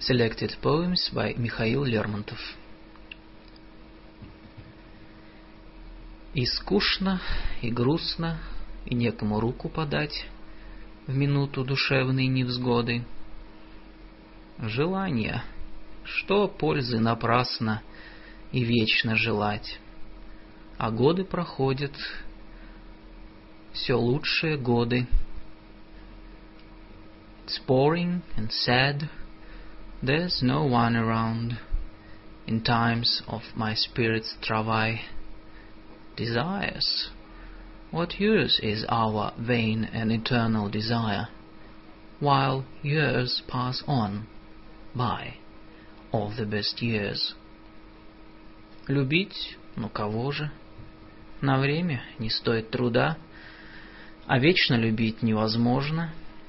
Selected poems by Михаил Лермонтов. И скучно, и грустно, и некому руку подать в минуту душевной невзгоды. Желание, что пользы напрасно и вечно желать, а годы проходят, все лучшие годы. It's boring and sad, there's no one around in times of my spirit's travail. Desires, what use is our vain and eternal desire, while years pass on by, all the best years. Любить, ну кого же? На время не стоит труда, а вечно любить невозможно.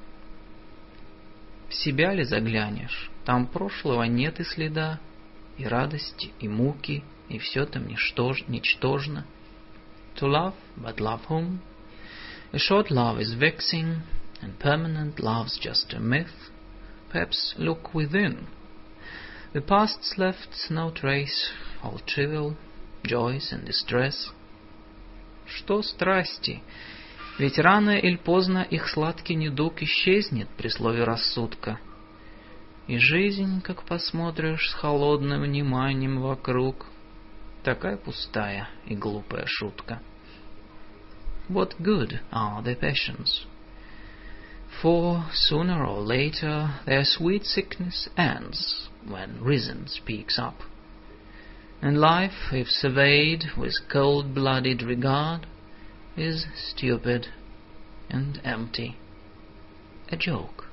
В себя ли заглянешь, там прошлого нет и следа, и радости, и муки, и все там ничтожно. To love, but love whom? A short love is vexing, and permanent love's just a myth. Perhaps look within. The past's left no trace, all trivial, joys and distress. Что страсти? Ведь рано или поздно их сладкий недуг исчезнет при слове рассудка. И жизнь, как посмотришь с холодным вниманием вокруг, такая пустая и глупая шутка. What good are their passions? For sooner or later their sweet sickness ends when reason speaks up. And life, if surveyed with cold-blooded regard, is stupid and empty, a joke.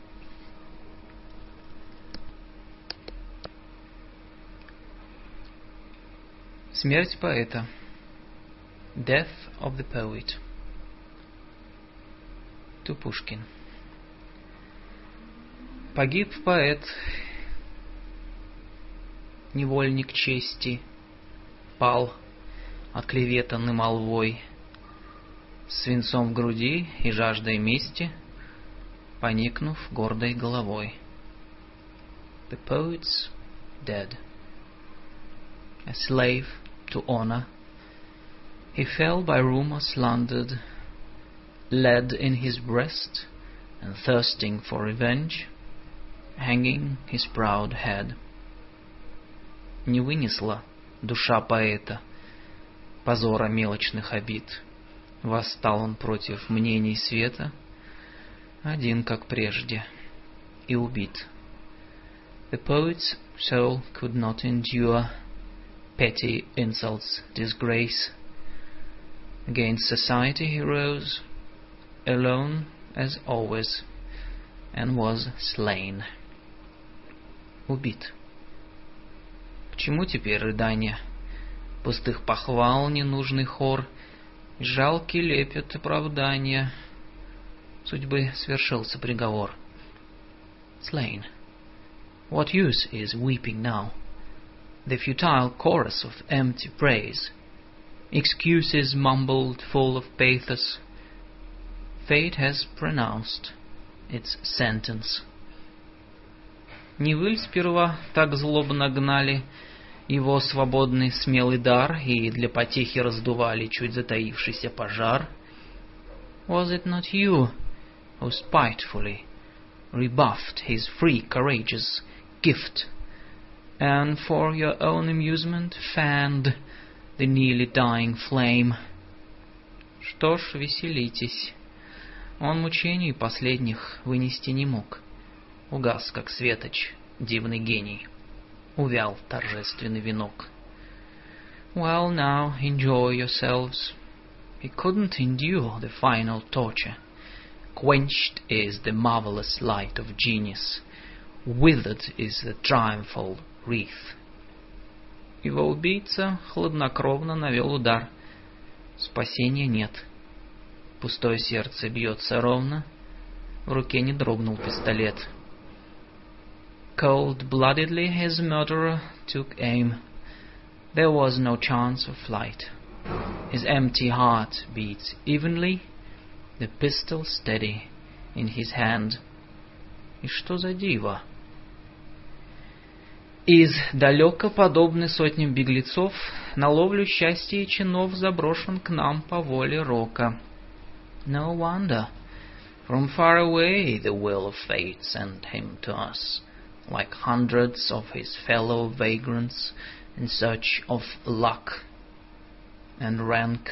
Смерть поэта. Death of the poet. To Pushkin. Погиб поэт, невольник чести, пал, оклеветанный молвой, свинцом в груди и жаждой мести, поникнув гордой головой. The poet's dead. A slave to honor, he fell by rumor slandered, lead in his breast, and thirsting for revenge, hanging his proud head. Не вынесла душа поэта позора мелочных обид. Восстал он против мнений света, один, как прежде, и убит. The poet's soul could not endure petty insults, disgrace. Against society he rose, alone as always, and was slain. Убит. К чему теперь рыдания, пустых похвал ненужный хор, жалкий лепет оправдания? Судьбы свершился приговор. Slain. What use is weeping now? The futile chorus of empty praise, excuses mumbled full of pathos. Fate has pronounced its sentence. Не вы ль сперва так злобно гнали его свободный смелый дар и для потехи раздували чуть затаившийся пожар? Was it not you who spitefully rebuffed his free courageous gift, and for your own amusement fanned the nearly dying flame? Что ж, веселитесь. Он мучений последних вынести не мог. Угас, как светоч, дивный гений. Увял торжественный венок. Well, now enjoy yourselves. He couldn't endure the final torture. Quenched is the marvelous light of genius. Withered is the triumphal wreath. Его убийца хладнокровно навел удар. Спасения нет. Пустое сердце бьется ровно. В руке не дрогнул пистолет. Cold-bloodedly his murderer took aim. There was no chance of flight. His empty heart beats evenly, the pistol steady in his hand. И что за диво? Из далека, подобный сотням беглецов, на ловлю счастья и чинов заброшен к нам по воле рока. No wonder, from far away the will of fate sent him to us, like hundreds of his fellow vagrants in search of luck and rank.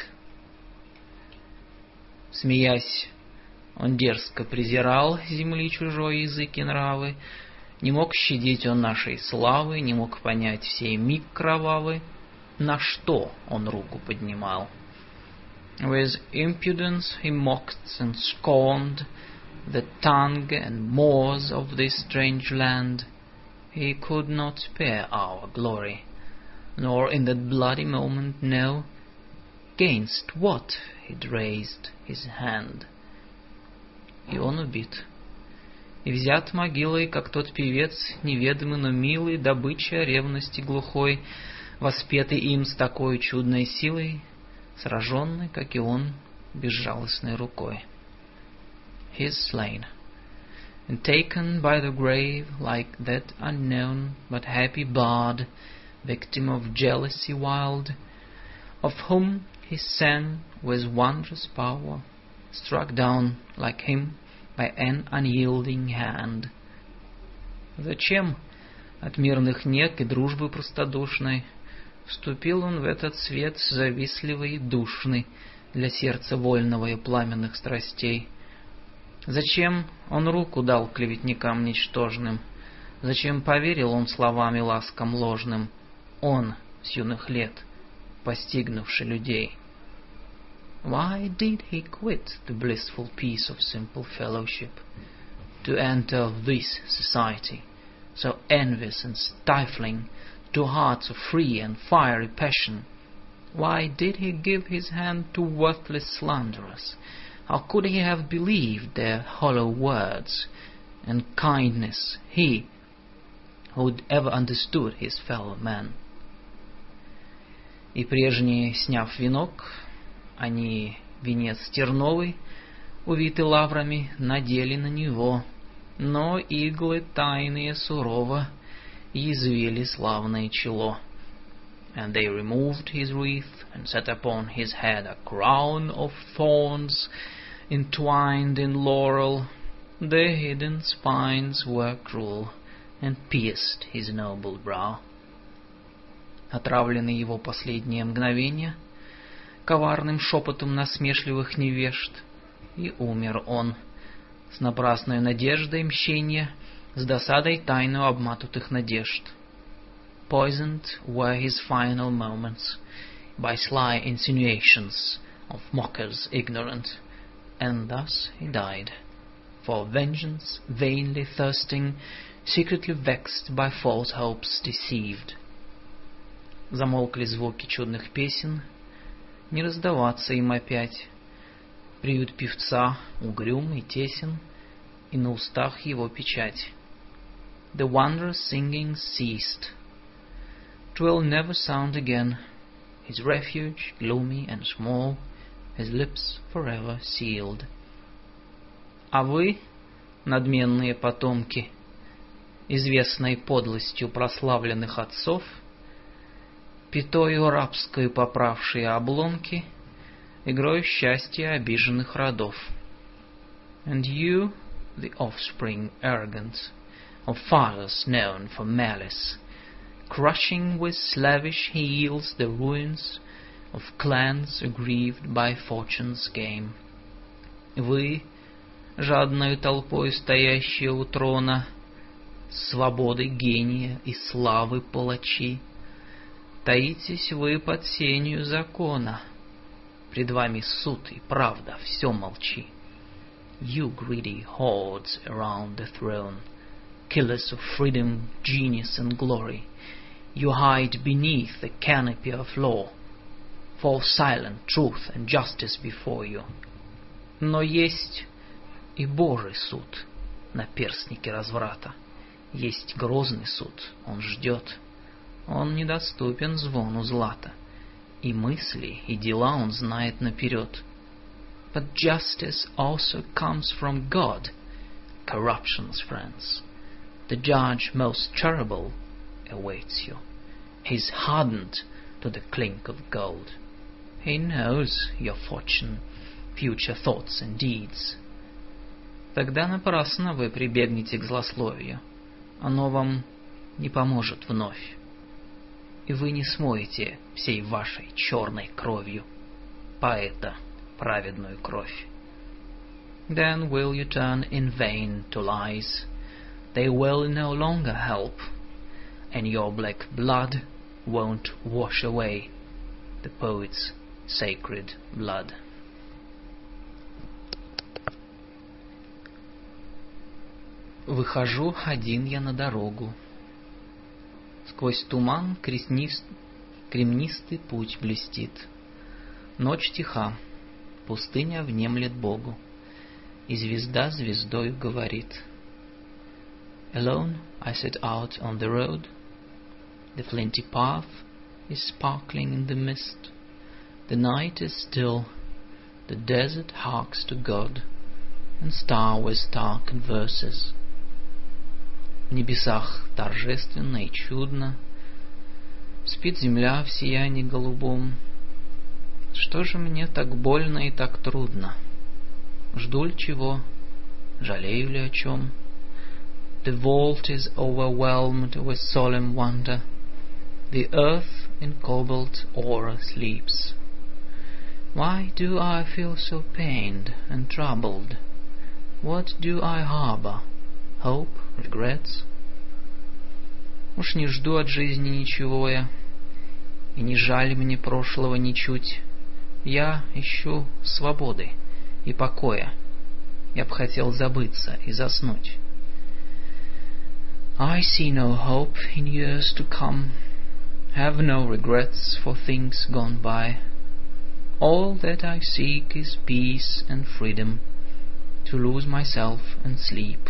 Смеясь, он дерзко презирал земли чужой язык и нравы, не мог щадить он нашей славы, не мог понять сей миг кровавый, на что он руку поднимал. With impudence he mocked and scorned the tongue and mores of this strange land. He could not spare our glory, nor in that bloody moment know against what he'd raised his hand. И он убит, и взят могилой, как тот певец, неведомый, но милый, добыча ревности глухой, воспетый им с такой чудной силой, сраженный, как и он, безжалостной рукой. He is slain, and taken by the grave like that unknown but happy bard, victim of jealousy wild, of whom he sang with wondrous power, struck down like him by an unyielding hand. Зачем от мирных нек и дружбы простодушной вступил он в этот свет завистливый и душный для сердца вольного и пламенных страстей? Зачем он руку дал клеветникам ничтожным? Зачем поверил он словам и ласкам ложным? Он, с юных лет, постигнувший людей. Why did he quit the blissful peace of simple fellowship to enter this society, so envious and stifling to hearts of free and fiery passion? Why did he give his hand to worthless slanderers? How could he have believed their hollow words and kindness, he who'd ever understood his fellow man? И прежние, сняв венок, они венец терновый, увитый лаврами, надели на него, но иглы тайные сурово язвили славное чело. And they removed his wreath and set upon his head a crown of thorns entwined in laurel. The hidden spines were cruel and pierced his noble brow. Отравлены его последние мгновения коварным шепотом насмешливых невежд, и умер он с напрасной надеждой мщения, с досадой тайну обматутых надежд. Poisoned were his final moments by sly insinuations of mockers ignorant, and thus he died, for vengeance vainly thirsting, secretly vexed by false hopes deceived. Замолкли звуки чудных песен, не раздаваться им опять. Приют певца угрюм и тесен, и на устах его печать. The wondrous singing ceased. 'Twill never sound again. His refuge, gloomy and small, his lips forever sealed. А вы, надменные потомки, известной подлостью прославленных отцов, пятою рабскою поправшие обломки, игрою счастья обиженных родов. And you, the offspring arrogant of fathers known for malice, crushing with slavish heels the ruins of clans aggrieved by fortune's game. Вы, жадною толпой стоящие у трона, свободы гения и славы палачи, таитесь вы под сенью закона, пред вами суд и правда, все молчи. You greedy hordes around the throne, killers of freedom, genius and glory, you hide beneath the canopy of law, fall silent truth and justice before you. Но есть и Божий суд на перстнике разврата, есть грозный суд, он ждет, он недоступен звону злата, и мысли, и дела он знает наперед. But justice also comes from God, corruption's friends. The judge most terrible awaits you. He's hardened to the clink of gold. He knows your fortune, future thoughts and deeds. Тогда напрасно вы прибегнете к злословию. Оно вам не поможет вновь. И вы не смоете всей вашей черной кровью поэта праведную кровь. Then will you turn in vain to lies? They will no longer help, and your black blood won't wash away the poet's sacred blood. Выхожу один я на дорогу. Сквозь туман кремнистый путь блестит. Ночь тиха, пустыня внемлет Богу, и звезда звездою говорит. Alone I set out on the road. The flinty path is sparkling in the mist. The night is still, the desert harks to God, and star with star converses. В небесах торжественно и чудно спит земля в сиянии голубом. Что же мне так больно и так трудно? Жду ли чего? Жалею ли о чем? The vault is overwhelmed with solemn wonder. The earth in cobalt aura sleeps. Why do I feel so pained and troubled? What do I harbor? Hope, regrets? Уж не жду от жизни ничего я, и не жаль мне прошлого ничуть. Я ищу свободы и покоя. Я б хотел забыться и заснуть. I see no hope in years to come, have no regrets for things gone by. All that I seek is peace and freedom, to lose myself and sleep.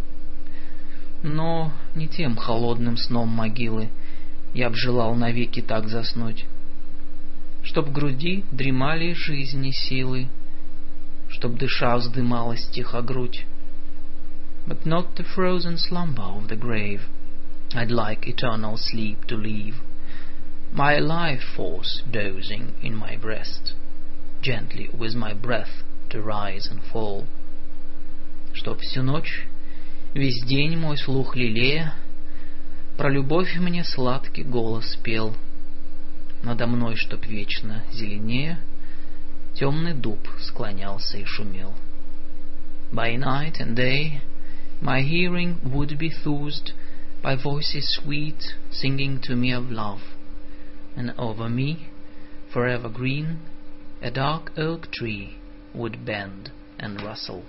Но не тем холодным сном могилы я б желал навеки так заснуть, чтоб в груди дремали жизни силы, чтоб дыша вздымалась тихо грудь. But not the frozen slumber of the grave I'd like eternal sleep to leave, my life force dozing in my breast, gently with my breath to rise and fall. Чтоб всю ночь, весь день мой слух лелея, про любовь мне сладкий голос пел. Надо мной, чтоб вечно зеленее, темный дуб склонялся и шумел. By night and day my hearing would be soothed by voices sweet singing to me of love, and over me, forever green, a dark oak tree would bend and rustle.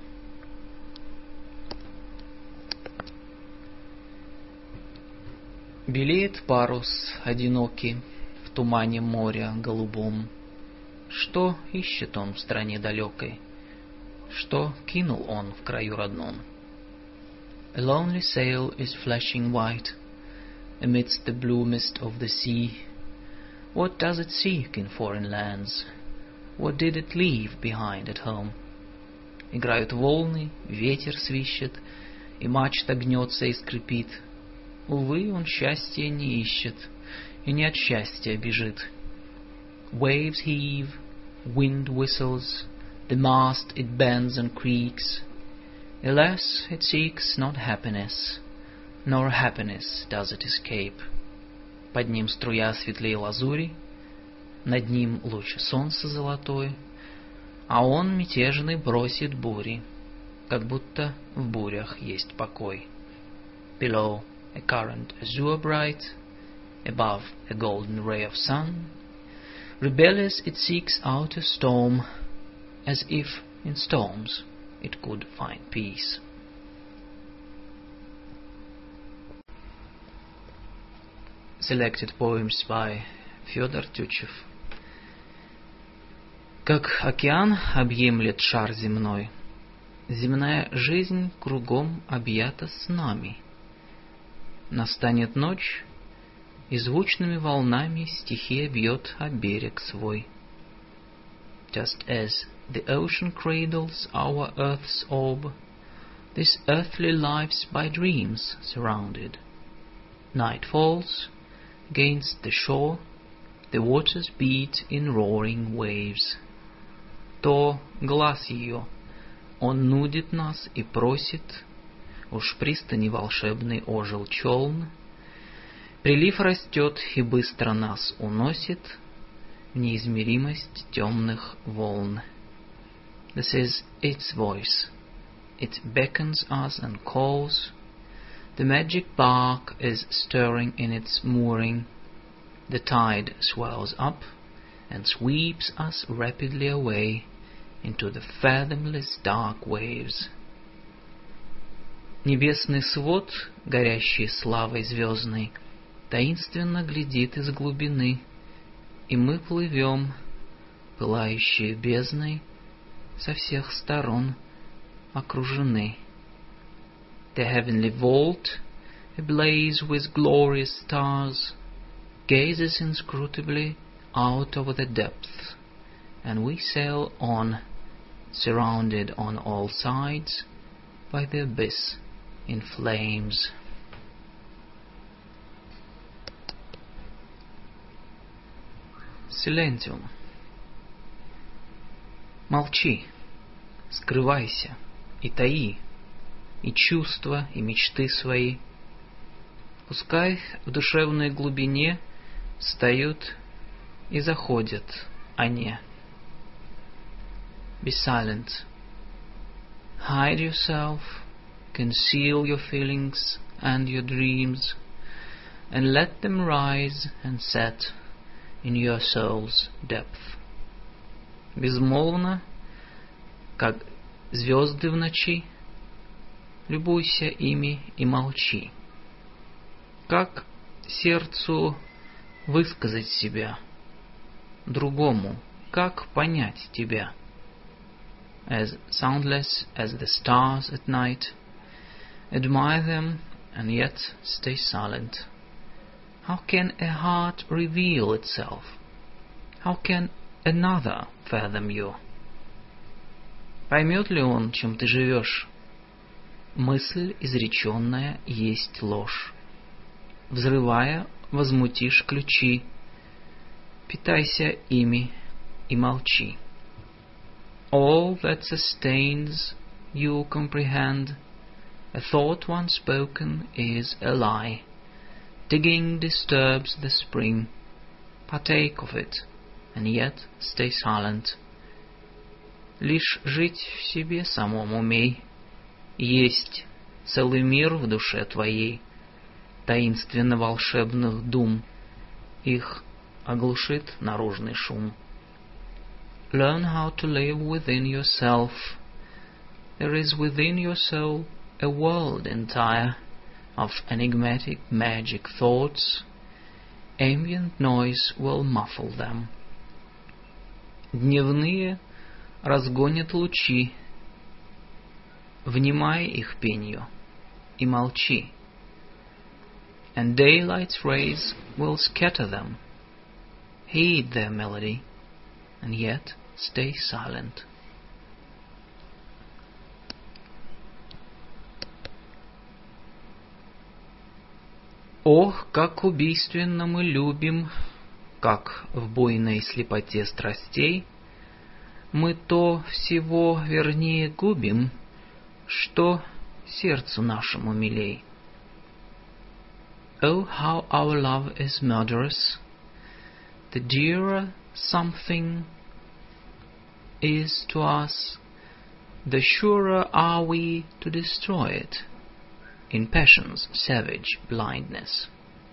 Белеет парус одинокий в тумане моря голубом. Что ищет он в стране далекой? Что кинул он в краю родном? A lonely sail is flashing white amidst the blue mist of the sea. What does it seek in foreign lands? What did it leave behind at home? Играют волны, ветер свищет, и мачта гнется и скрипит. Увы, он счастья не ищет, и не от счастья бежит. Waves heave, wind whistles, the mast it bends and creaks. Alas, it seeks not happiness, nor happiness does it escape. Под ним струя светлей лазури, над ним луч солнца золотой, а он мятежный бросит бури, как будто в бурях есть покой. Below, a current azure bright, above a golden ray of sun. Rebellious it seeks out a storm, as if in storms it could find peace. Selected poems by Федор Тютчев. Как океан объемлет шар земной, земная жизнь кругом объята снами. Настанет ночь, и звучными волнами стихия бьет о берег свой. Just as the ocean cradles our earth's orb, this earthly life's by dreams surrounded. Night falls. Against the shore the waters beat in roaring waves. То глаз ее, он нудит нас и просит, уж пристани волшебный ожил челн. Прилив растет и быстро нас уносит в неизмеримость темных волн. This is its voice. It beckons us and calls. The magic bark is stirring in its mooring. The tide swells up and sweeps us rapidly away into the fathomless dark waves. Небесный свод, горящий славой звездной, таинственно глядит из глубины, и мы плывем, пылающие бездной, со всех сторон окружены. The heavenly vault, ablaze with glorious stars, gazes inscrutably out over the depth, and we sail on, surrounded on all sides by the abyss in flames. Silentium. Молчи, скрывайся и таи и чувства, и мечты свои. Пускай в душевной глубине встают и заходят они. Be silent. Hide yourself, conceal your feelings and your dreams, and let them rise and set in your soul's depth. Безмолвно, как звезды в ночи, любуйся ими и молчи. Как сердцу высказать себя, другому, как понять тебя? As soundless as the stars at night, admire them and yet stay silent. How can a heart reveal itself? How can another fathom you? Поймет ли он, чем ты живешь? Мысль изреченная есть ложь. Взрывая, возмутишь ключи. Питайся ими и молчи. All that sustains you comprehend. A thought once spoken is a lie. Digging disturbs the spring. Partake of it, and yet stay silent. Лишь жить в себе самом умей. Есть целый мир в душе твоей, таинственно волшебных дум. Их оглушит наружный шум. Learn how to live within yourself. There is within your soul a world entire of enigmatic magic thoughts. Ambient noise will muffle them. Дневные разгонят лучи. Внимай их пенью и молчи. And daylight's rays will scatter them. Heed their melody, and yet stay silent. Ох, как убийственно мы любим, как в буйной слепоте страстей мы то всего вернее губим, что сердцу нашему милей. Oh, how our love is murderous! The dearer something is to us, the surer are we to destroy it in passion's savage blindness.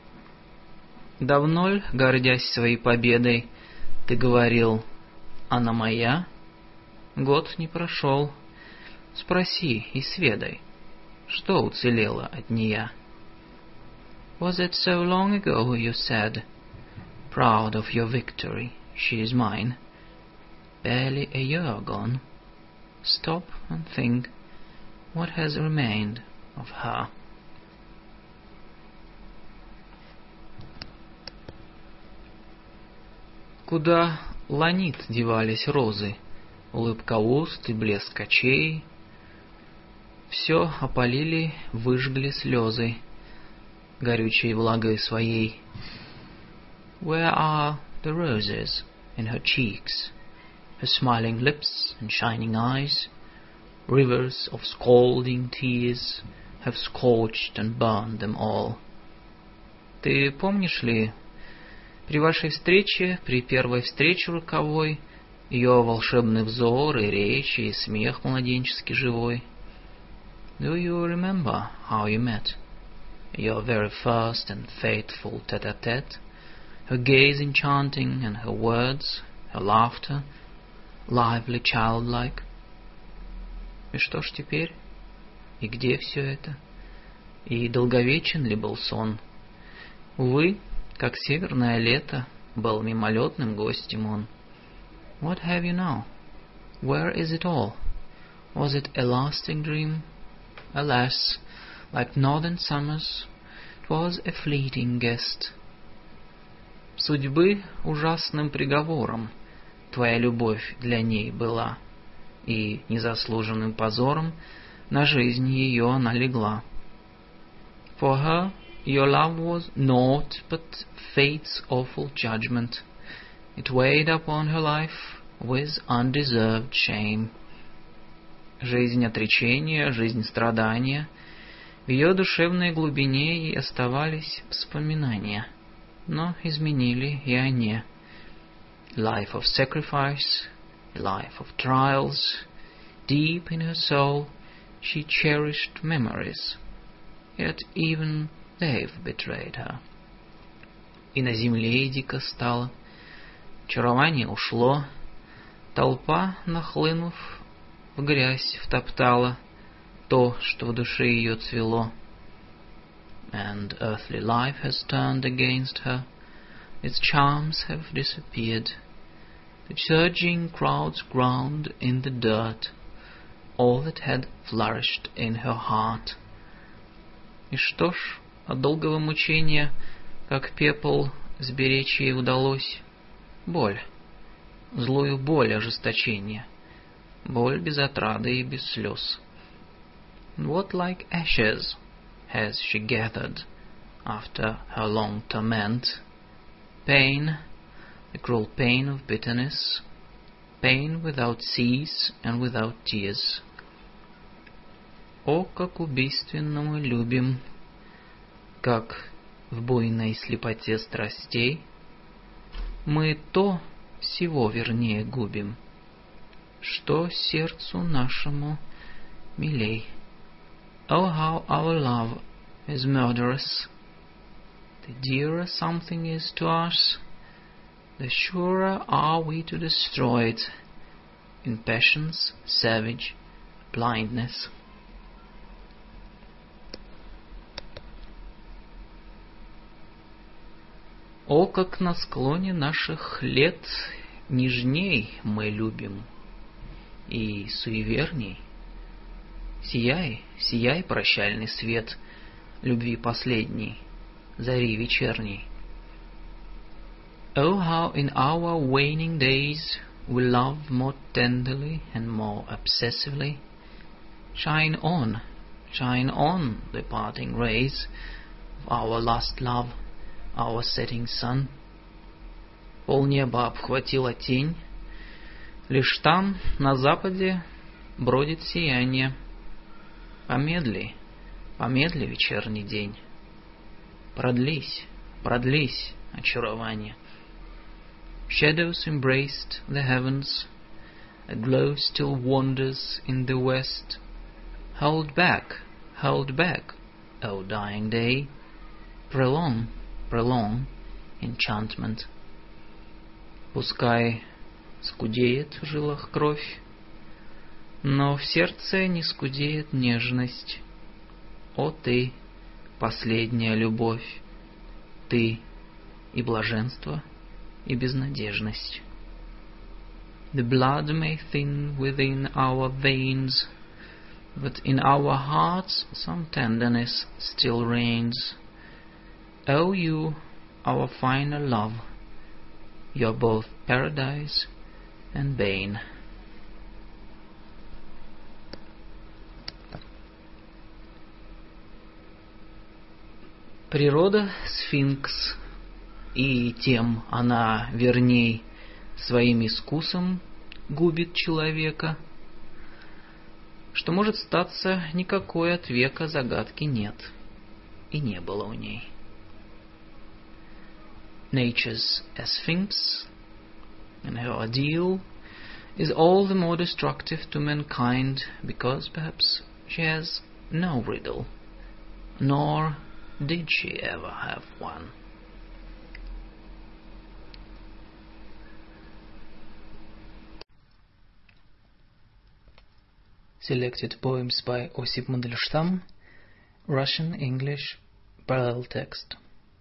Давно ль, гордясь своей победой, ты говорил: «Она моя»? Год не прошел. Спроси и сведай, что уцелело от нея. Was it so long ago you said, proud of your victory, she is mine? Barely a year gone. Stop and think what has remained of her. Куда ланит девались розы, улыбка уст и блеск очей? Все опалили, выжгли слезы. горючей влагой своей. Where are the roses in her cheeks, her smiling lips and shining eyes? Rivers of scalding tears have scorched and burned them all. Ты помнишь ли, при вашей встрече, при первой встрече роковой, ее волшебный взор и речь, и смех младенчески живой? Do you remember how you met? Your very first and faithful tête-à-tête, her gaze enchanting and her words, her laughter, lively, childlike. И что ж теперь? И где все это? И долговечен ли был сон? Увы, как северное лето, был мимолетным гостем он. What have you now? Where is it all? Was it a lasting dream? Alas, like northern summers, 'twas a fleeting guest. Судьбы ужасным приговором твоя любовь для ней была, и незаслуженным позором на жизнь ее она легла. For her your love was naught but fate's awful judgment. It weighed upon her life with undeserved shame. Жизнь отречения, жизнь страдания, в ее душевной глубине и оставались воспоминания, но изменили и они. Life of sacrifice, a life of trials, deep in her soul she cherished memories, yet even they've betrayed her. И на земле дико стало, очарование ушло, толпа, нахлынув, в грязь втоптала то, что в душе ее цвело. And earthly life has turned against her, its charms have disappeared. The surging crowds ground in the dirt all that had flourished in her heart. И что ж, от долгого мучения, как пепел, сберечь ей удалось? Боль, злую боль ожесточения, боль без отрады и без слез. What like ashes has she gathered after her long torment? Pain, the cruel pain of bitterness, pain without cease and without tears. О, как убийственно мы любим, как в буйной слепоте страстей мы то всего вернее губим, что сердцу нашему милей. Oh, how our love is murderous! The dearer something is to us, the surer are we to destroy it in passion's savage blindness. О, как на склоне наших лет нежней мы любим и суеверней. Сияй, сияй, прощальный свет любви последней, зари вечерней. Oh, how in our waning days we love more tenderly and more obsessively. Shine on, the parting rays of our last love, our setting sun. Полнеба обхватила тень, лишь там, на западе, бродит сияние. Помедли, помедли, вечерний день. Продлись, продлись, очарование. Shadows embraced the heavens, a glow still wanders in the west. Hold back, O dying day, prolong, prolong enchantment. Пускай скудеет в жилах кровь, но в сердце не скудеет нежность. О ты, последняя любовь, ты и блаженство, и безнадежность. The blood may thin within our veins, but in our hearts some tenderness still reigns. O you, our final love, you're both paradise and bane. Природа сфинкс, и тем она верней своим искусом губит человека, что может статься никакой от века загадки нет, и не было у ней. Nature's a sphinx, and her ordeal is all the more destructive to mankind because perhaps she has no riddle, nor did she ever have one. Selected poems by Осип Мандельштам, Russian-English parallel text.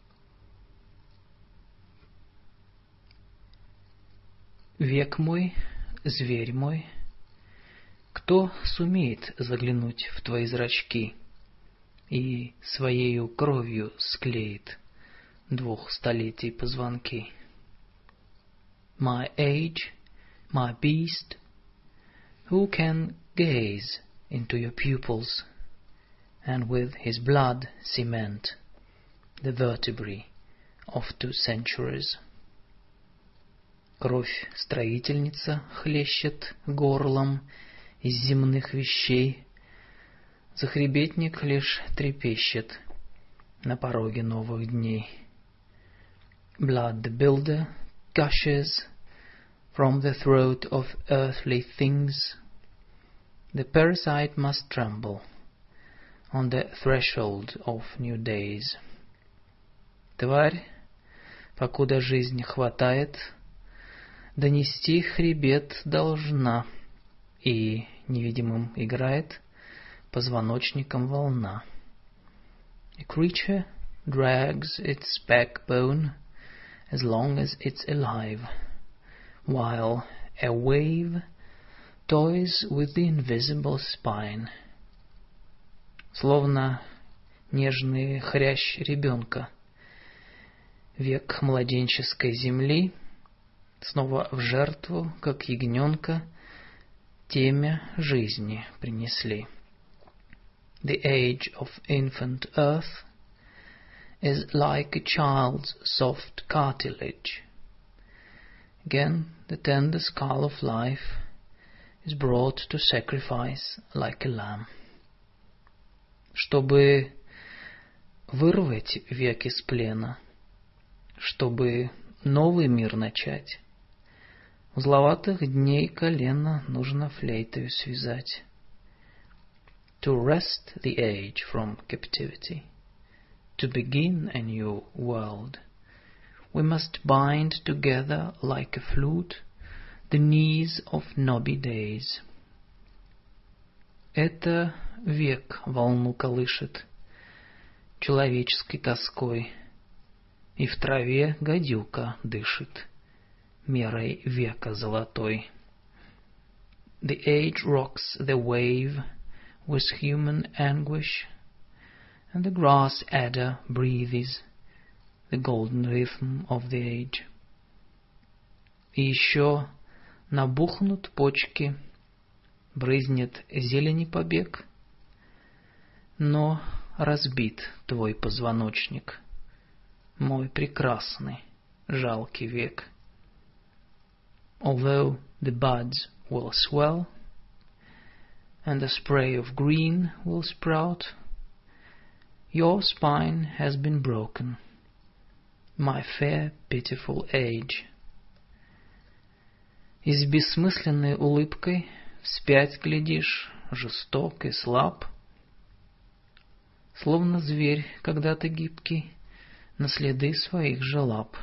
Век мой, зверь мой, кто сумеет заглянуть в твои зрачки и своею кровью склеит 2 столетий позвонки? My age, my beast, who can gaze into your pupils and with his blood cement the vertebrae of 2 centuries? Кровь строительница хлещет горлом из земных вещей, захребетник лишь трепещет на пороге новых дней. Blood the builder gushes from the throat of earthly things. The parasite must tremble on the threshold of new days. Тварь, покуда жизнь хватает, донести хребет должна, и невидимым играет позвоночником волна. A creature drags its backbone as long as it's alive, while a wave toys with the invisible spine. Словно нежный хрящ ребенка, век младенческой земли снова в жертву, как ягненка, темя жизни принесли. The age of infant earth is like a child's soft cartilage. Again, the tender skull of life is brought to sacrifice like a lamb. Чтобы вырвать век из плена, чтобы новый мир начать, узловатых дней колено нужно флейтою связать. To wrest the age from captivity, to begin a new world, we must bind together like a flute the knees of knobby days. Это век волну колышет человеческой тоской, и в траве гадюка дышит мерой века золотой. The age rocks the wave with human anguish, and the grass adder breathes the golden rhythm of the age. И еще набухнут почки, брызнет зелени побег, но разбит твой позвоночник, мой прекрасный, жалкий век. Although the buds will swell, and the spray of green will sprout, your spine has been broken, my fair, pitiful age. И с бессмысленной улыбкой вспять глядишь, жесток и слаб, словно зверь когда-то гибкий, на следы своих же лап.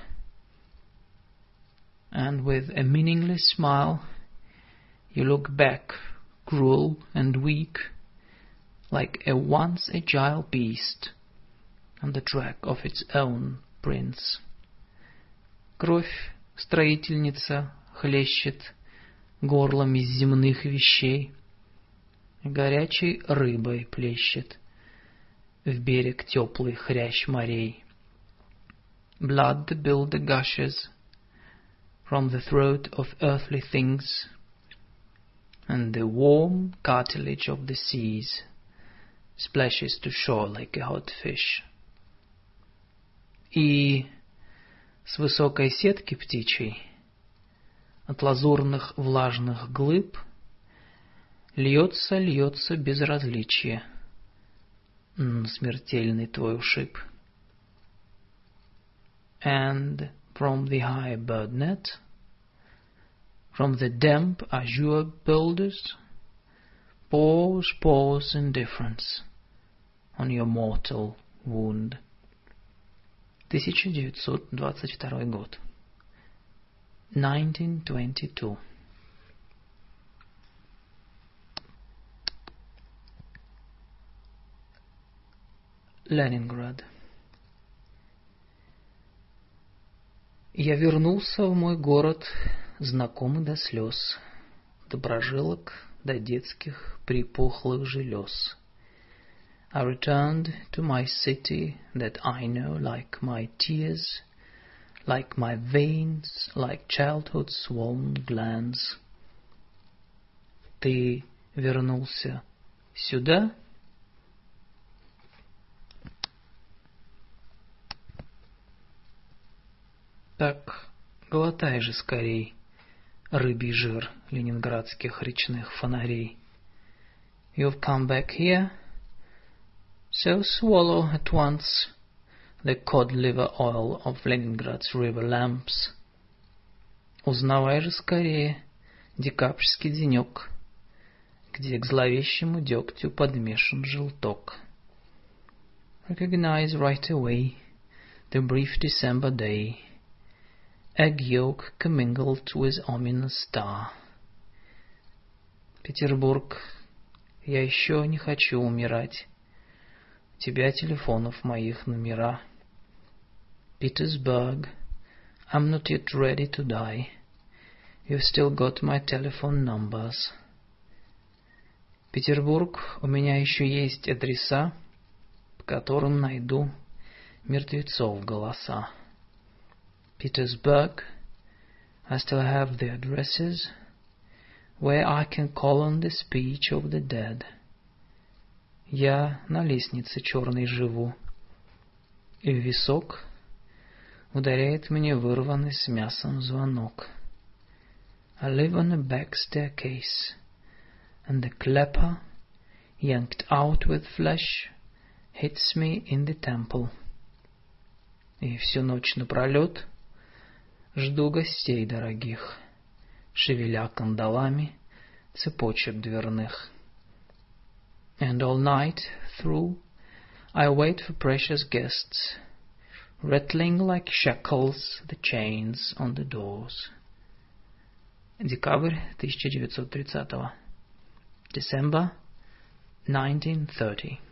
And with a meaningless smile you look back, cruel and weak, like a once agile beast on the track of its own prince. Кровь строительница хлещет горлом из земных вещей, горячей рыбой плещет в берег теплый хрящ морей. Blood the builder gushes from the throat of earthly things, and the warm cartilage of the seas splashes to shore like a hot fish. И с высокой сетки птичьей, от лазурных влажных глыб, льется безразличие на смертельный твой ушиб. And from the high bird net, from the damp azure boulders, pours indifference on your mortal wound. 1922 год. 1922. Ленинград. Я вернулся в мой город, знакомый до слез, доброжилок до детских припухлых желез. I returned to my city that I know like my tears, like my veins, like childhood's swollen glands. Ты вернулся сюда? Так глотай же скорей рыбий жир ленинградских речных фонарей. You've come back here, so swallow at once the cod-liver oil of Leningrad's river lamps. Узнавай же скорее декабрьский денек, где к зловещему дегтю подмешан желток. Recognize right away the brief December day, egg yolk commingled with ominous star. Петербург, я еще не хочу умирать. У тебя телефонов моих номера. Petersburg, I'm not yet ready to die. You've still got my telephone numbers. Петербург, у меня еще есть адреса, по которым найду мертвецов голоса. Petersburg, I still have the addresses where I can call on the speech of the dead. Я на лестнице черной живу, и в висок ударяет мне вырванный с мясом звонок. I live on a back staircase, and the clapper, yanked out with flesh, hits me in the temple. И всю ночь напролет жду гостей дорогих, шевеля кандалами цепочек дверных. And all night through I wait for precious guests, rattling like shackles the chains on the doors. Декабрь 1930. December 1930.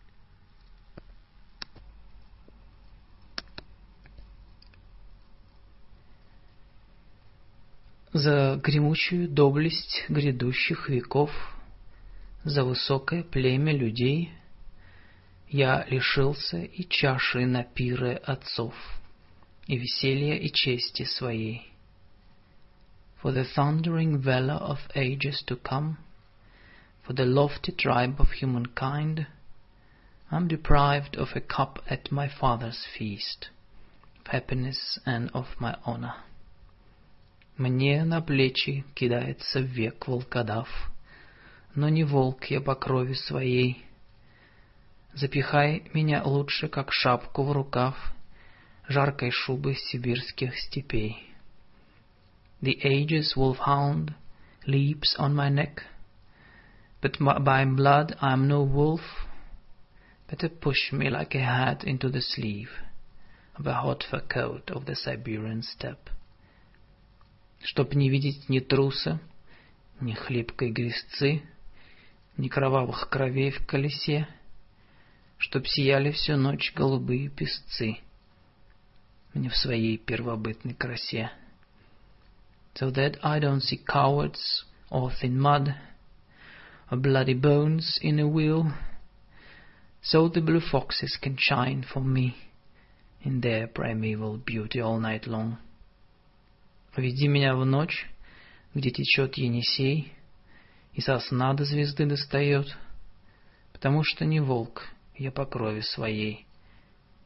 За гремучую доблесть грядущих веков, за высокое племя людей я лишился и чаши на пиры отцов, и веселья и чести своей. For the thundering valor of ages to come, for the lofty tribe of humankind, I'm deprived of a cup at my father's feast, of happiness and of my honor. Мне на плечи кидается век волкодав, но не волк я по крови своей. Запихай меня лучше, как шапку в рукав жаркой шубы сибирских степей. The age's wolfhound leaps on my neck, but by blood I'm no wolf. Better push me like a hat into the sleeve of a hot fur coat of the Siberian steppe. Чтоб не видеть ни труса, ни хлипкой грязцы, ни кровавых кровей в колесе, чтоб сияли всю ночь голубые песцы мне в своей первобытной красе. So that I don't see cowards or thin mud, or bloody bones in a wheel, so the blue foxes can shine for me in their primeval beauty all night long. Веди меня в ночь, где течет Енисей, и сосна до звезды достает, потому что не волк я по крови своей,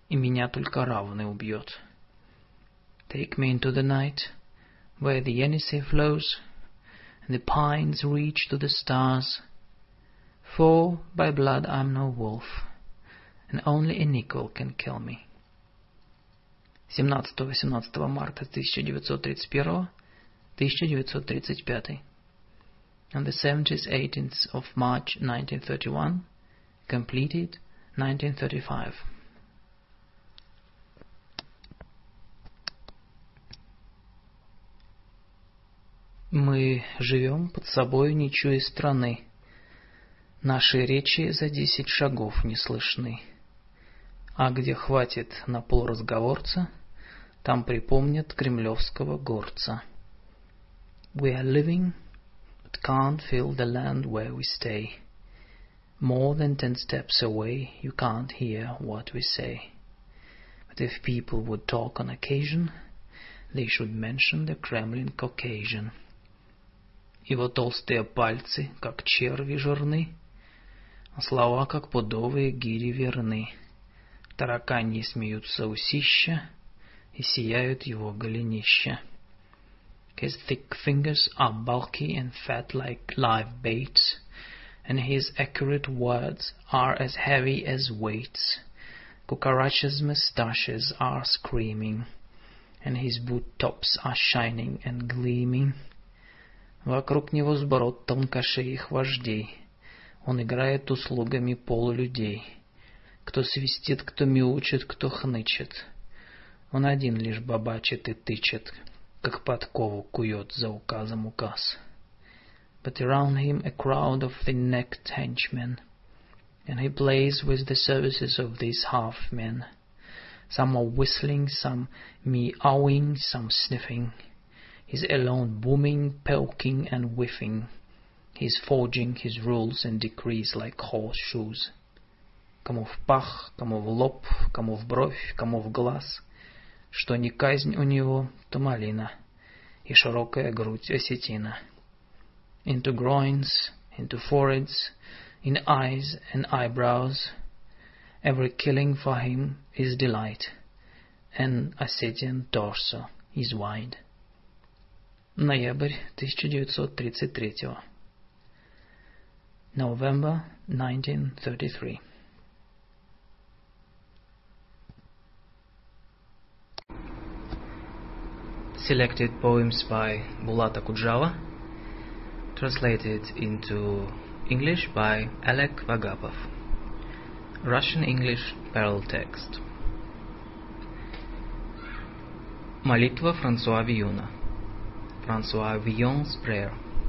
и меня только равный убьет. Take me into the night, where the Yenisei flows, and the pines reach to the stars, for by blood I'm no wolf, and only an equal can kill me. 17-18 марта 1931, 1935. On the 17th, 18th of March 1931, completed 1935. Мы живем под собой, не чуя страны. Наши речи за 10 шагов не слышны. А где хватит на полразговорца, там припомнят кремлевского горца. We are living, but can't feel the land where we stay. More than 10 steps away, you can't hear what we say. But if people would talk on occasion, they should mention the Kremlin Caucasian. Его толстые пальцы, как черви жирны, а слова, как пудовые гири верны. Тараканьи смеются усища, и сияют его голенища. His thick fingers are bulky and fat like live baits, and his accurate words are as heavy as weights. Cucaracha's moustaches are screaming, and his boot tops are shining and gleaming. Вокруг него сброд тонкошеих вождей. Он играет услугами полулюдей. Кто свистит, кто мяучит, кто хнычет. Он один лишь бабачит и тычет, как подкову кует за указом указ. But around him a crowd of thin-necked henchmen, and he plays with the services of these half-men. Some are whistling, some meowing, some sniffing. He's alone booming, poking and whiffing. He's forging his rules and decrees like horseshoes. Кому в пах, кому в лоб, кому в бровь, кому в глаз. Что не казнь у него, то малина, и широкая грудь осетина. Into groins, into foreheads, in eyes and eyebrows. Every killing for him is delight, and Ossetian torso is wide. Ноябрь 1933. November 1933. Selected poems by Bulat Akudjava, translated into English by Alek Vagapov. Russian-English parallel text. Молитва Франсуа Вийона. Франсуа Вийон's prayer.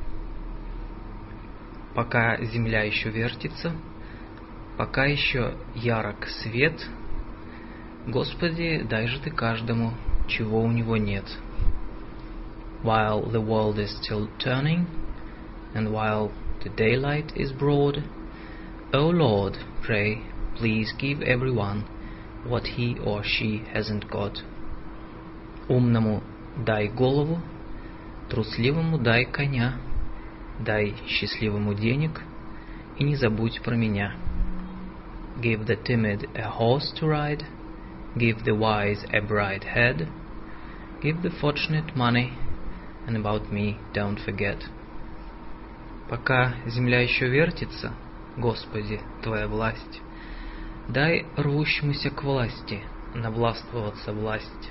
Пока земля еще вертится, пока еще ярок свет, Господи, дай же Ты каждому, чего у него нет. While the world is still turning, and while the daylight is broad, O Lord, pray, please give everyone what he or she hasn't got. Умному дай голову, трусливому дай коня, дай счастливому денег и не забудь про меня. Give the timid a horse to ride, give the wise a bright head, give the fortunate money, and about me don't forget. Пока земля еще вертится, Господи, Твоя власть, дай рвущемуся к власти навластвоваться власть.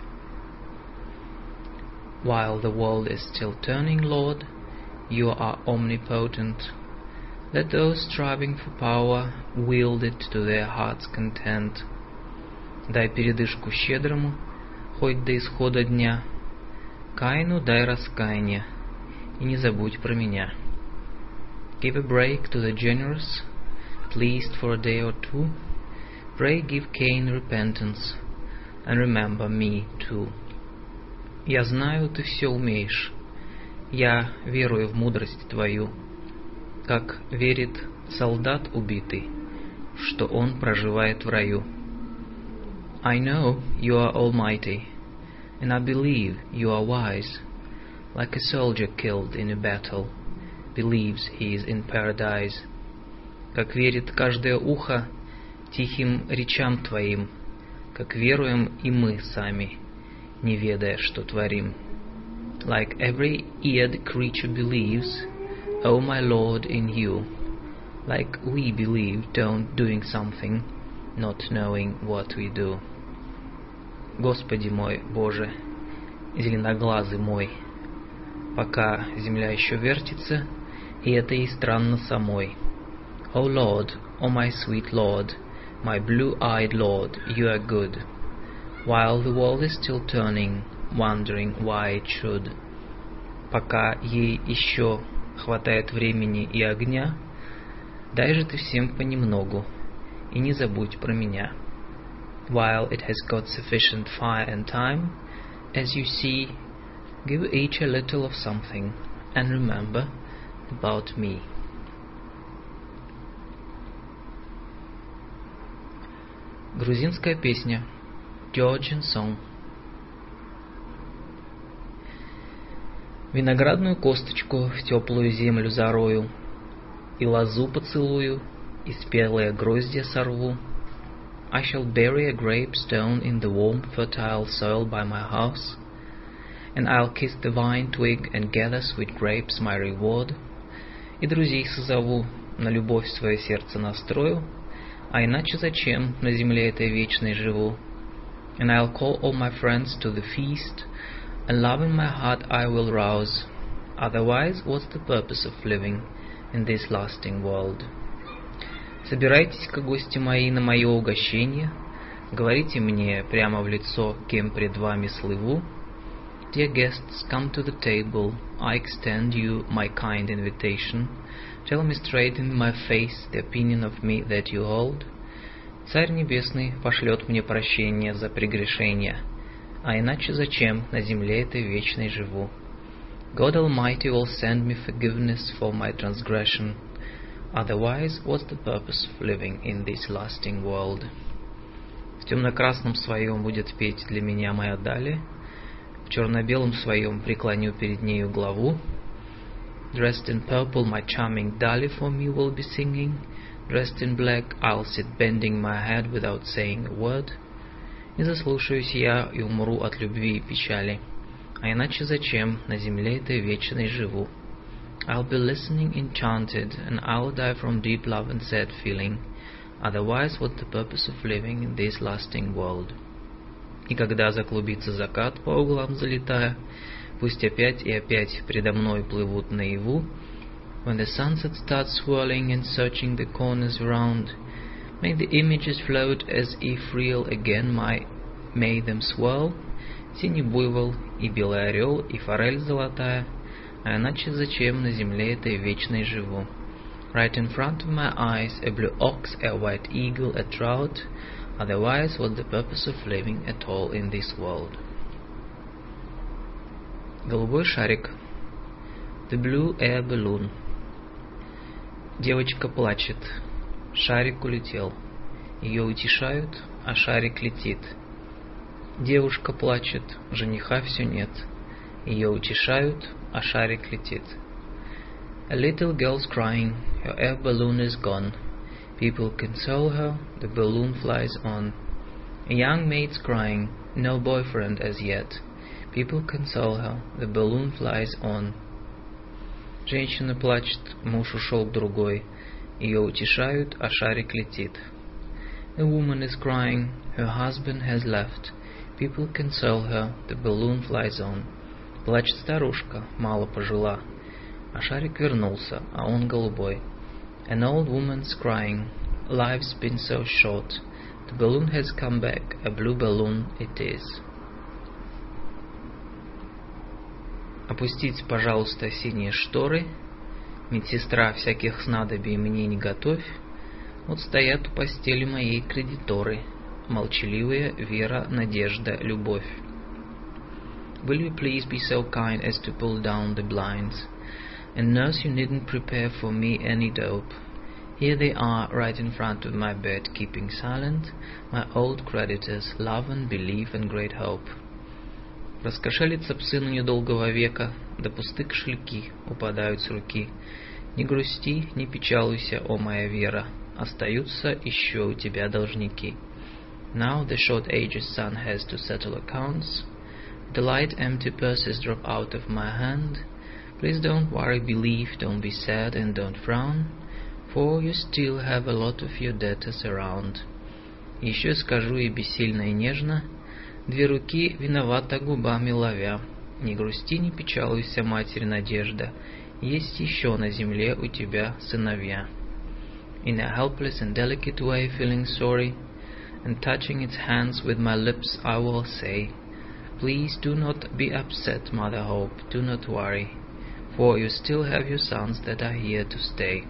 While the world is still turning, Lord, You are omnipotent. Let those striving for power wield it to their heart's content. Дай передышку щедрому, хоть до исхода дня. Каину дай раскаяние, и не забудь про меня. Give a break to the generous, at least for a day or two. Pray give Cain repentance, and remember me too. Я знаю, ты все умеешь. Я верую в мудрость Твою, как верит солдат убитый, что он проживает в раю. I know you are almighty, and I believe you are wise, like a soldier killed in a battle believes he is in paradise. Как верит каждое ухо тихим речам Твоим, как веруем и мы сами, не ведая, что творим. Like every eared creature believes, O my Lord, in you, like we believe, doing something, not knowing what we do. Господи мой, Боже, зеленоглазый мой, пока земля еще вертится, и это ей странно самой. O Lord, O my sweet Lord, my blue-eyed Lord, you are good, while the world is still turning, wondering why it should. Пока ей еще хватает времени и огня, дай же ты всем понемногу, и не забудь про меня. While it has got sufficient fire and time, as you see, give each a little of something, and remember about me. Грузинская песня. Georgian song. Виноградную косточку в теплую землю зарою, и лозу поцелую, и спелые гроздья сорву. I shall bury a grape stone in the warm, fertile soil by my house, and I'll kiss the vine twig and gather sweet grapes my reward. И друзей созову, на любовь свое сердце настрою, а иначе зачем на земле этой вечной живу? And I'll call all my friends to the feast, and love in my heart I will rouse. Otherwise, what's the purpose of living in this lasting world? Собирайтесь-ка, гости мои, на мое угощение, говорите мне прямо в лицо, кем пред вами слыву. Dear guests, come to the table, I extend you my kind invitation. Tell me straight in my face the opinion of me that you hold. Царь Небесный пошлет мне прощение за прегрешения, а иначе зачем на земле этой вечной живу? God Almighty will send me forgiveness for my transgression. Otherwise, what's the purpose of living in this lasting world? В темно-красном своем будет петь для меня моя Далия, в черно-белом своем преклоню перед нею главу. Dressed in purple, my charming Dali for me will be singing. Dressed in black, I'll sit bending my head without saying a word. И заслушаюсь я и умру от любви и печали, а иначе зачем на земле этой вечной живу? I'll be listening enchanted, and I'll die from deep love and sad feeling. Otherwise, what's the purpose of living in this lasting world? И когда заклубится закат по углам залетая, пусть опять и опять предо мной плывут наяву. When the sunset starts swirling and searching the corners round, may the images float as if real again, may them swirl. Синий буйвол и белый орел и форель золотая, а иначе зачем на земле этой вечной живу? Right in front of my eyes a blue ox, a white eagle, a trout. Otherwise, what's the purpose of living at all in this world? Голубой шарик. The blue air balloon. Девочка плачет. Шарик улетел. Ее утешают, а шарик летит. Девушка плачет, жениха все нет. Ее утешают, а шарик летит. A little girl's crying, her air balloon is gone. People console her, the balloon flies on. A young maid's crying, no boyfriend as yet. People console her, the balloon flies on. Женщина плачет, муж ушел к другой. Ее утешают, а шарик летит. A woman is crying, her husband has left. People console her, the balloon flies on. Плачет старушка, мало пожила, а шарик вернулся, а он голубой. An old woman's crying, life's been so short. The balloon has come back, a blue balloon it is. Опустить, пожалуйста, синие шторы, медсестра всяких снадобий мне не готовь. Вот стоят у постели моей кредиторы, молчаливые вера, надежда, любовь. Will you please be so kind as to pull down the blinds? And nurse, you needn't prepare for me any dope. Here they are, right in front of my bed, keeping silent, my old creditors, love and belief and great hope. Раскошелятся псы на недолгого века, да пусты кошельки упадают с руки. Не грусти, не печалуйся, о моя вера, остаются еще у тебя должники. Now the short-aged sun has to settle accounts. The light empty purses drop out of my hand. Please don't worry, believe, don't be sad and don't frown, for you still have a lot of your debtors around. Еще скажу и бессильно и нежно, две руки виновата губами ловя. Не грусти, не печалуйся, Матерь Надежда, есть еще на земле у тебя сыновья. In a helpless and delicate way, feeling sorry, and touching its hands with my lips, I will say, please do not be upset, Mother Hope, do not worry, for you still have your sons that are here to stay.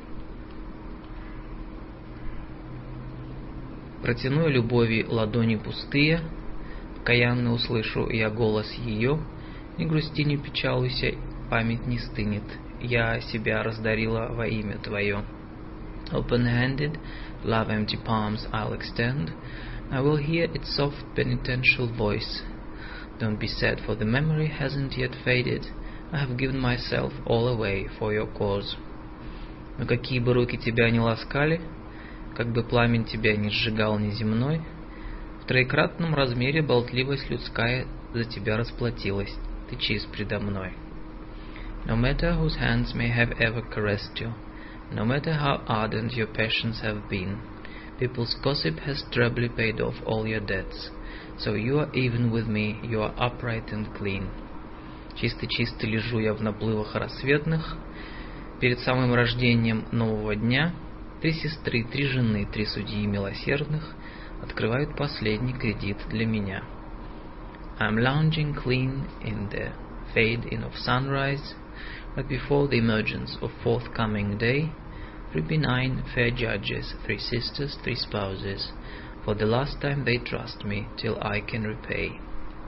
Протяну любови ладони пустые, покаянно услышу я голос ее, не грусти, не печалуйся, память не стынет, я себя раздарила во имя Твое. Open-handed, love-empty palms I'll extend, I will hear its soft penitential voice. Don't be sad, for the memory hasn't yet faded, I have given myself all away for your cause. Но какие бы руки тебя ни ласкали, как бы пламень тебя ни сжигал неземной, в троекратном размере болтливость людская за тебя расплатилась, ты чист предо мной. No matter whose hands may have ever caressed you, no matter how ardent your passions have been, people's gossip has trebly paid off all your debts, so you are even with me, you are upright and clean. Чисто-чисто лежу я в наплывах рассветных, перед самым рождением нового дня, три сестры, три жены, три судьи милосердных открывают последний кредит для меня. I'm lounging clean in the fade-in of sunrise, but before the emergence of forthcoming day, three benign fair judges, three sisters, three spouses, for the last time they trust me till I can repay.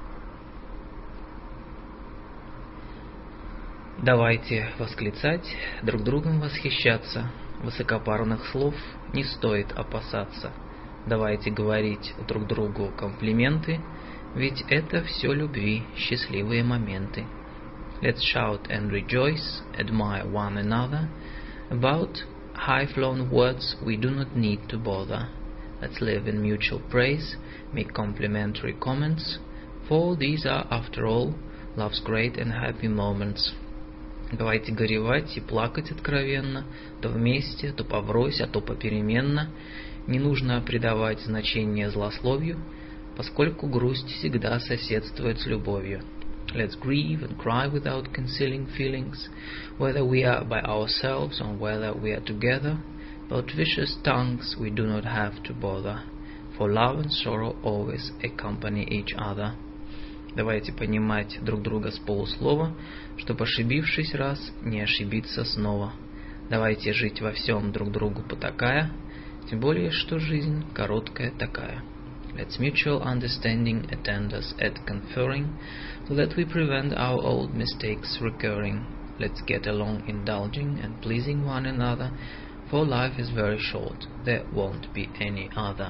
Давайте восклицать, друг другом восхищаться, высокопарных слов не стоит опасаться. Давайте говорить друг другу комплименты, ведь это все любви, счастливые моменты. Let's shout and rejoice, admire one another. About high-flown words we do not need to bother. Let's live in mutual praise, make complimentary comments, for these are, after all, love's great and happy moments. Давайте горевать и плакать откровенно, то вместе, то поврось, а то попеременно. Не нужно придавать значение злословию, поскольку грусть всегда соседствует с любовью. Let's grieve and cry without concealing feelings, whether we are by ourselves or whether we are together. About vicious tongues we do not have to bother, for love and sorrow always accompany each other. Давайте понимать друг друга с полуслова, чтобы, ошибившись раз, не ошибиться снова. Давайте жить во всем друг другу потакая, тем более, что жизнь короткая такая. Let's mutual understanding attend us at conferring, so that we prevent our old mistakes recurring. Let's get along indulging and pleasing one another, for life is very short, there won't be any other.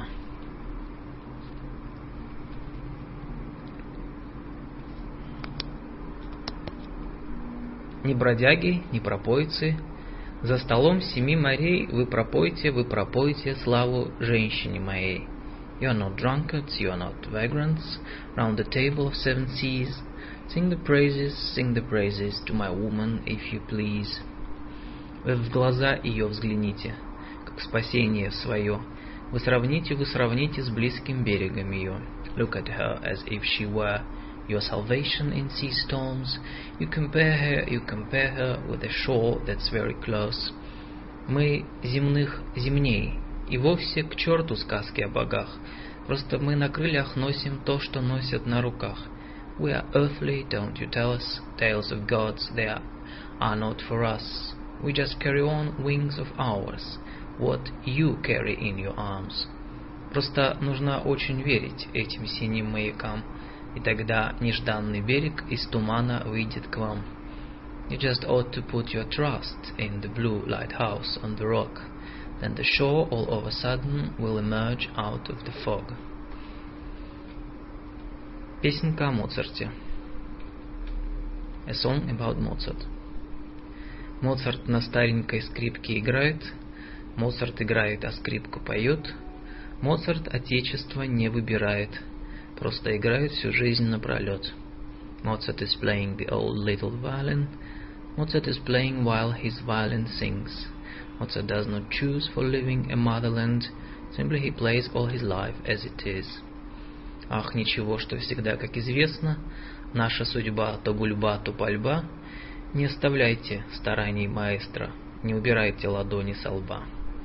Ни бродяги, ни пропойцы, за столом семи морей вы пропойте славу женщине моей. You are not drunkards, you are not vagrants, round the table of seven seas, sing the praises to my woman, if you please. Вы в глаза ее взгляните, как спасение свое, вы сравните с близким берегом ее. Look at her as if she were your salvation in sea storms. You compare her with a shore that's very close. Мы земных земней, и вовсе к черту сказки о богах. Просто мы на крыльях носим то, что носят на руках. We are earthly, don't you tell us, tales of gods, they are not for us. We just carry on wings of ours, what you carry in your arms. Просто нужно очень верить этим синим маякам, и тогда нежданный берег из тумана выйдет к вам. You just ought to put your trust in the blue lighthouse on the rock, then the shore all of a sudden will emerge out of the fog. Песенка о Моцарте. A song about Mozart. Моцарт на старенькой скрипке играет, Моцарт играет, а скрипка поет. Моцарт отечество не выбирает, просто играет всю жизнь напролет. Mozart is playing the old little violin. Mozart is playing while his violin sings. Mozart does not choose for living a motherland, simply he plays all his life as it is. Ах, ничего, что всегда, как известно, наша судьба то гульба, то пальба. Не оставляйте стараний маэстро, не убирайте ладони со лба.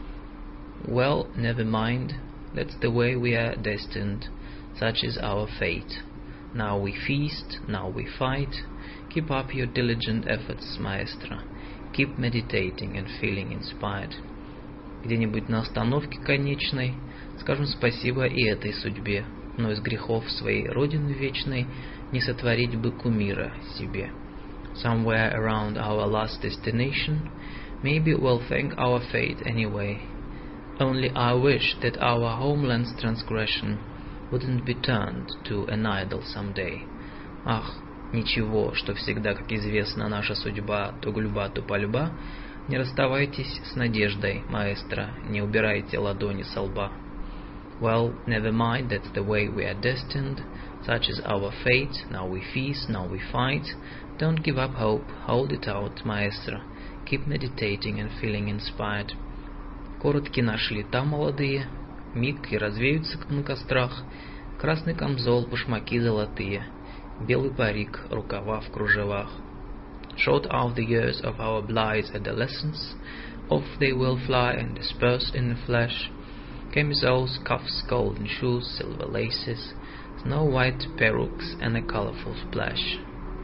Well, never mind, that's the way we are destined, such is our fate. Now we feast, now we fight. Keep up your diligent efforts, maestro. Keep meditating and feeling inspired. Где-нибудь на остановке конечной скажем спасибо и этой судьбе, но из грехов своей родины вечной не сотворить бы кумира себе. Somewhere around our last destination, maybe we'll thank our fate anyway. Only I wish that our homeland's transgression wouldn't be turned to an idol someday. Ах, ничего, что всегда, как известно, наша судьба то гульба, то пальба. Не расставайтесь с надеждой, маэстро, не убирайте ладони со лба. Well, never mind, that's the way we are destined, such is our fate, now we feast, now we fight. Don't give up hope, hold it out, маэстро, keep meditating and feeling inspired. Коротки наши лета молодые, миг и развеются на кострах, красный камзол, башмаки золотые, белый парик, рукава в кружевах. Short are the years of our blithe adolescence, off they will fly and disperse in the flash. Camisoles, cuffs, golden shoes, silver laces, snow-white perukes and a colorful splash.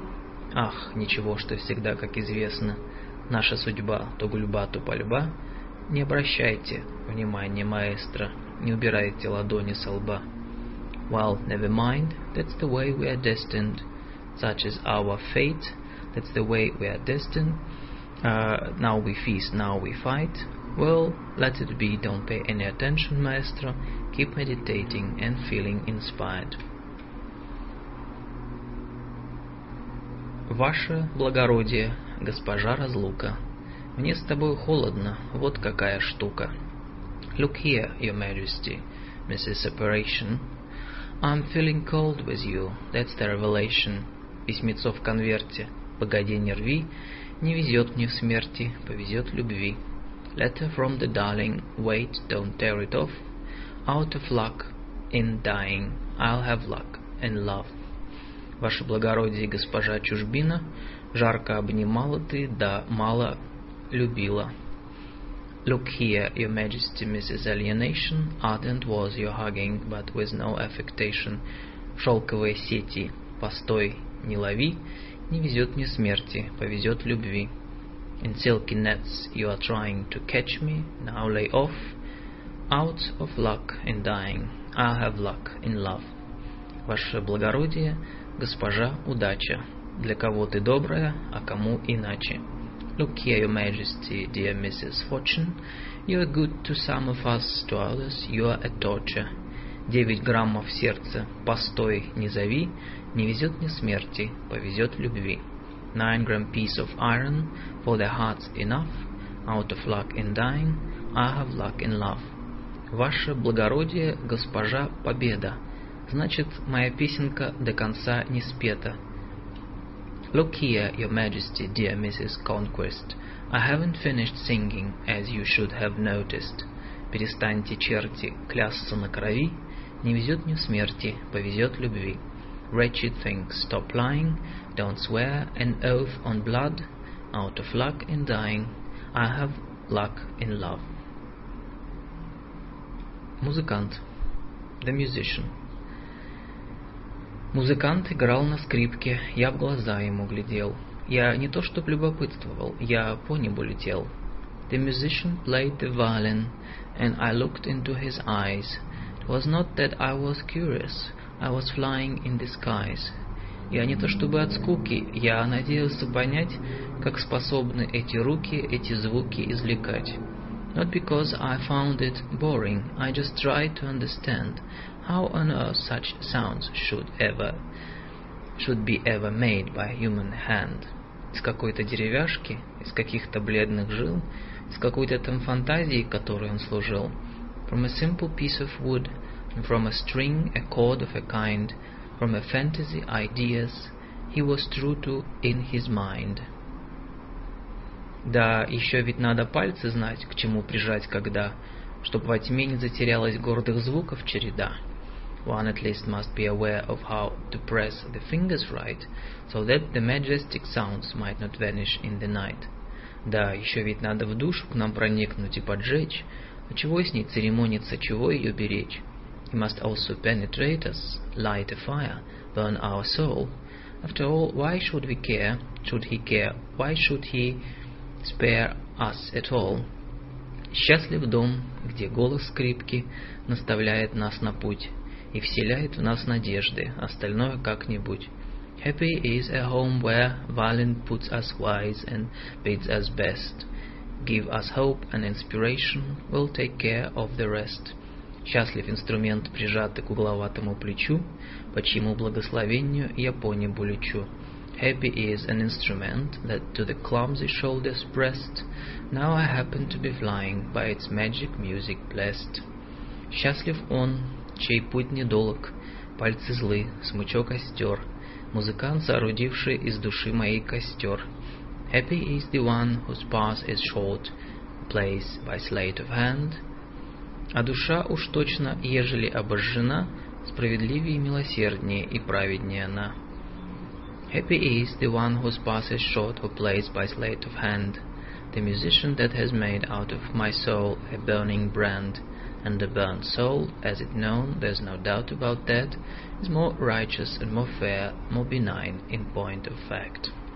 Ах, ничего, что всегда, как известно, наша судьба то гульба, то пальба. Не обращайте внимания, маэстро, не убирайте ладони со лба. Well, never mind, that's the way we are destined, such is our fate, that's the way we are destined. Now we feast, now we fight. Well, let it be, don't pay any attention, maestro, keep meditating and feeling inspired. Ваше благородие, госпожа разлука, мне с тобой холодно, вот какая штука. Look here, your majesty, Mrs. Separation. I'm feeling cold with you, that's the revelation. Письмецо в конверте, погоди не рви, не везет мне в смерти, повезет любви. Letter from the darling, wait, don't tear it off. Out of luck in dying, I'll have luck in love. Ваше благородие, госпожа чужбина, жарко обнимала ты, да мало любила. Look here, your majesty, Mrs. Alienation, ardent was your hugging, but with no affectation. Шелковые сети, постой, не лови, не везет мне смерти, повезет любви. In silky nets you are trying to catch me, now lay off. Out of luck in dying, I'll have luck in love. Ваше благородие, госпожа удача, для кого ты добрая, а кому иначе. Look here, your majesty, dear Mrs. Fortune, you are good to some of us, to others you are a torture. 9 граммов сердца, постой, не зови, не везет мне смерти, повезет любви. 9-gram piece of iron, for their hearts enough, out of luck in dying, I have luck in love. Ваше благородие, госпожа победа, значит, моя песенка до конца не спета. Look here, your majesty, dear Mrs. Conquest, I haven't finished singing, as you should have noticed. Перестаньте, черти, клясться на крови, не везет мне смерти, повезет любви. Wretched things, stop lying, don't swear an oath on blood, out of luck in dying, I have luck in love. Музыкант. The musician. Музыкант играл на скрипке, я в глаза ему глядел. Я не то чтоб любопытствовал, я по небу летел. The musician played the violin, and I looked into his eyes. It was not that I was curious, I was flying in the skies. Я не то чтобы от скуки, я надеялся понять, как способны эти руки эти звуки извлекать. Not because I found it boring, I just tried to understand how on earth such sounds should be ever made by a human hand. Из какой-то деревяшки, из каких-то бледных жил, из какой-то там фантазии, которой он служил. From a simple piece of wood, and from a string a chord of a kind, from a fantasy ideas he was true to in his mind. Да, еще ведь надо пальцы знать, к чему прижать когда, чтоб во тьме не затерялась гордых звуков череда. One at least must be aware of how to press the fingers right, so that the majestic sounds might not vanish in the night. Да, еще ведь надо в душу к нам проникнуть и поджечь, а чего с ней церемониться, чего ее беречь? He must also penetrate us, light a fire, burn our soul. After all, why should we care? Should he care? Why should he spare us at all? Счастлив дом, где голос скрипки наставляет нас на путь и вселяет в нас надежды, остальное как-нибудь. Happy is a home where violin puts us wise and bids us best. Give us hope and inspiration, we'll take care of the rest. Счастлив инструмент, прижатый к угловатому плечу, по чьему благословению я по небу лечу. Happy is an instrument that to the clumsy shoulders pressed, now I happen to be flying, by its magic music blessed. Счастлив он, чей путь недолог, пальцы злы, смычок остер, музыкант, соорудивший из души моей костер. Happy is the one whose path is short, plays by sleight of hand. А душа уж точно, ежели обожжена, справедливее и милосерднее и праведнее она. Happy is the one whose path is short, who plays by sleight of hand. The musician that has made out of my soul a burning brand. And the burnt soul, as it known, there's no doubt about that, is more righteous and more fair, more benign in point of fact.